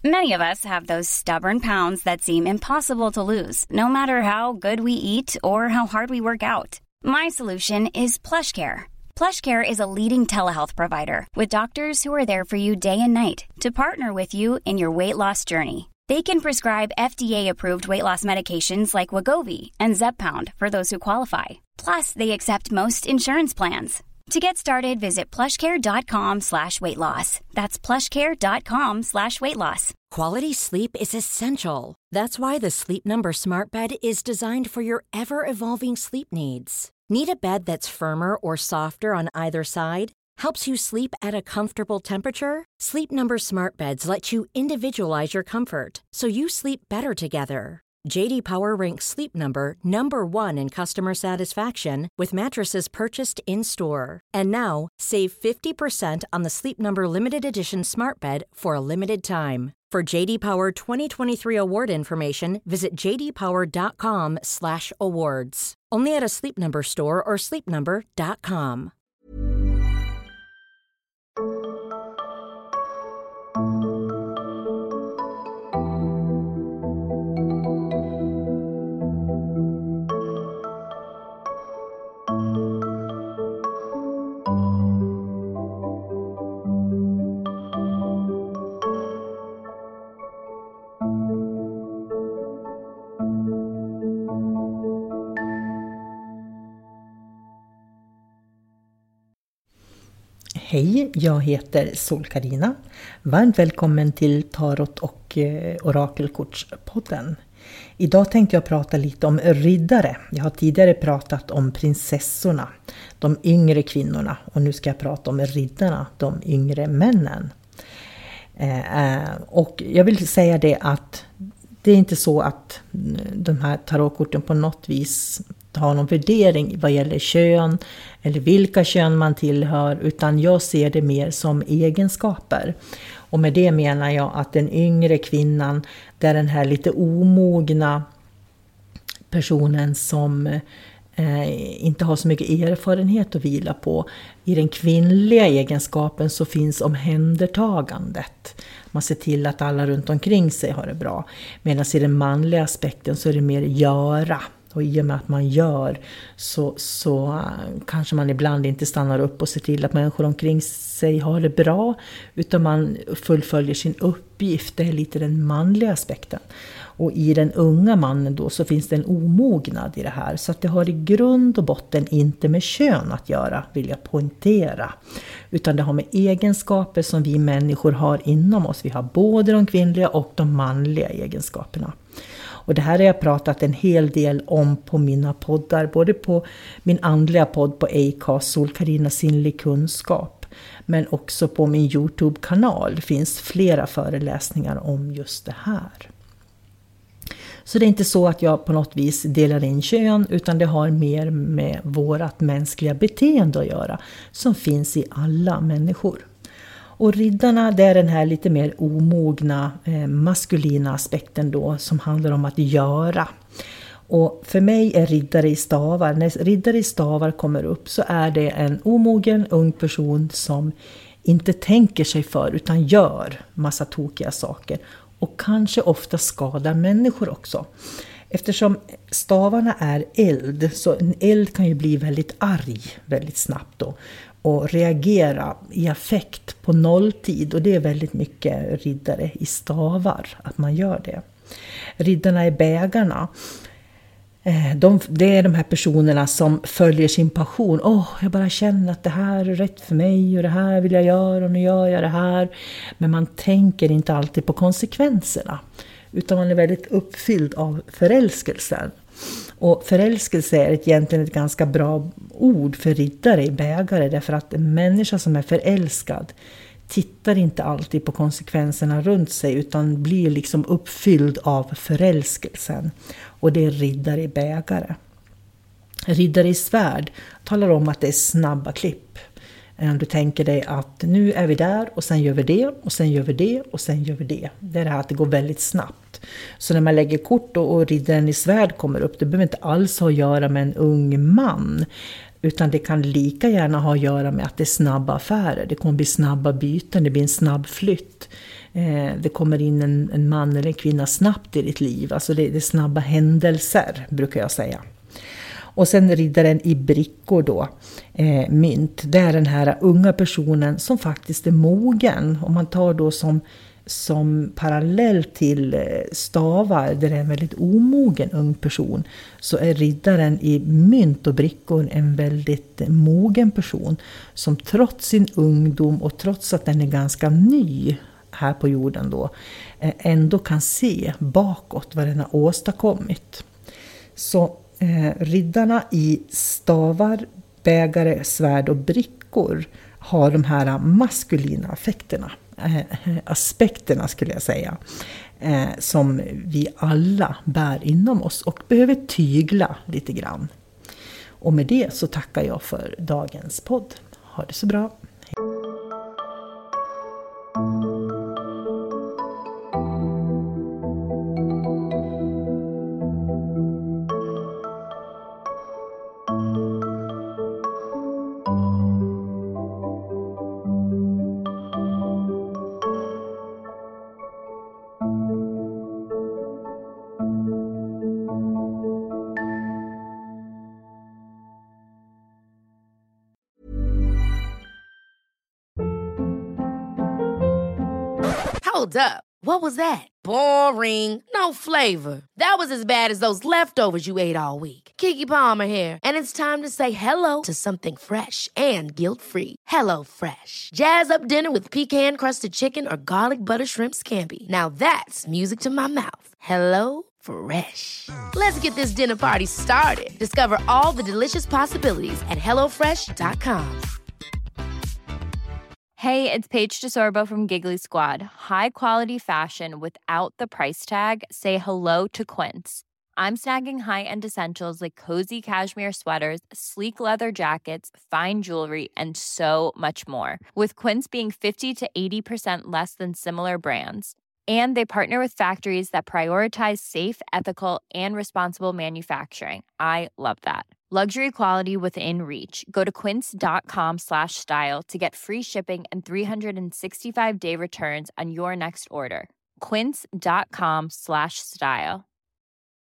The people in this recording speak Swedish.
Many of us have those stubborn pounds that seem impossible to lose, no matter how good we eat or how hard we work out. My solution is PlushCare. PlushCare is a leading telehealth provider with doctors who are there for you day and night to partner with you in your weight loss journey. They can prescribe FDA-approved weight loss medications like Wegovy and Zepbound for those who qualify. Plus, they accept most insurance plans. To get started, visit plushcare.com/weightloss. That's plushcare.com/weightloss. Quality sleep is essential. That's why the Sleep Number Smart Bed is designed for your ever-evolving sleep needs. Need a bed that's firmer or softer on either side? Helps you sleep at a comfortable temperature? Sleep Number Smart Beds let you individualize your comfort so you sleep better together. J.D. Power ranks Sleep Number #1 in customer satisfaction with mattresses purchased in-store. And now, save 50% on the Sleep Number Limited Edition Smart Bed for a limited time. For J.D. Power 2023 award information, visit jdpower.com/awards. Only at a Sleep Number store or sleepnumber.com. Hej, jag heter Sol-Carina. Varmt välkommen till Tarot och Orakelkortspodden. Idag tänkte jag prata lite om riddare. Jag har tidigare pratat om prinsessorna, de yngre kvinnorna. Och nu ska jag prata om riddarna, de yngre männen. Och jag vill säga det att det är inte så att de här tarotkorten på något vis har någon värdering vad gäller kön eller vilka kön man tillhör, utan jag ser det mer som egenskaper. Och med det menar jag att den yngre kvinnan, det är den här lite omogna personen som inte har så mycket erfarenhet att vila på. I den kvinnliga egenskapen så finns omhändertagandet. Man ser till att alla runt omkring sig har det bra. Medan i den manliga aspekten så är det mer göra. Och i och med att man gör så kanske man ibland inte stannar upp och ser till att människor omkring sig har det bra. Utan man fullföljer sin uppgift. Det är lite den manliga aspekten. Och i den unga mannen då så finns det en omognad i det här. Så att det har i grund och botten inte med kön att göra, vill jag poängtera. Utan det har med egenskaper som vi människor har inom oss. Vi har både de kvinnliga och de manliga egenskaperna. Och det här har jag pratat en hel del om på mina poddar. Både på min andliga podd på Acast, Sol-Carina sinnlig kunskap. Men också på min YouTube-kanal. Det finns flera föreläsningar om just det här. Så det är inte så att jag på något vis delar in kön, utan det har mer med vårat mänskliga beteende att göra. Som finns i alla människor. Och riddarna, det är den här lite mer omogna maskulina aspekten då som handlar om att göra. Och för mig är riddare i stavar, när riddare i stavar kommer upp så är det en omogen ung person som inte tänker sig för utan gör massa tokiga saker. Och kanske ofta skadar människor också. Eftersom stavarna är eld, så en eld kan ju bli väldigt arg väldigt snabbt då. Och reagera i affekt på nolltid. Och det är väldigt mycket riddare i stavar att man gör det. Riddarna i bägarna. Det är de här personerna som följer sin passion. Jag bara känner att det här är rätt för mig och det här vill jag göra och nu gör jag det här. Men man tänker inte alltid på konsekvenserna. Utan man är väldigt uppfylld av förälskelsen. Och förälskelse är egentligen ett ganska bra ord för riddare i bägare. Därför att en människa som är förälskad tittar inte alltid på konsekvenserna runt sig. Utan blir liksom uppfylld av förälskelsen. Och det är riddare i bägare. Riddare i svärd talar om att det är snabba klipp. Du tänker dig att nu är vi där och sen gör vi det och sen gör vi det och sen gör vi det. Det är det här att det går väldigt snabbt. Så när man lägger kort och riddaren i svärd kommer upp, det behöver inte alls ha att göra med en ung man. Utan det kan lika gärna ha att göra med att det är snabba affärer. Det kommer bli snabba byten, det blir en snabb flytt. Det kommer in en man eller en kvinna snabbt i ditt liv. Alltså det är snabba händelser, brukar jag säga. Och sen riddaren i brickor då, mynt. Det är den här unga personen som faktiskt är mogen. Om man tar då som parallell till stavar, där det är en väldigt omogen ung person, så är riddaren i mynt och brickor en väldigt mogen person som trots sin ungdom och trots att den är ganska ny här på jorden då, ändå kan se bakåt vad den har åstadkommit. Så riddarna i stavar, bägare, svärd och brickor har de här maskulina aspekterna skulle jag säga, som vi alla bär inom oss och behöver tygla lite grann. Och med det så tackar jag för dagens podd. Ha det så bra. Hold up. What was that? Boring. No flavor. That was as bad as those leftovers you ate all week. Keke Palmer here, and it's time to say hello to something fresh and guilt-free. Hello Fresh. Jazz up dinner with pecan-crusted chicken or garlic butter shrimp scampi. Now that's music to my mouth. Hello Fresh. Let's get this dinner party started. Discover all the delicious possibilities at hellofresh.com. Hey, it's Paige DeSorbo from Giggly Squad. High quality fashion without the price tag. Say hello to Quince. I'm snagging high-end essentials like cozy cashmere sweaters, sleek leather jackets, fine jewelry, and so much more. With Quince being 50 to 80% less than similar brands. And they partner with factories that prioritize safe, ethical, and responsible manufacturing. I love that. Luxury quality within reach. Go to quince.com/style to get free shipping and 365-day returns on your next order. Quince.com/style.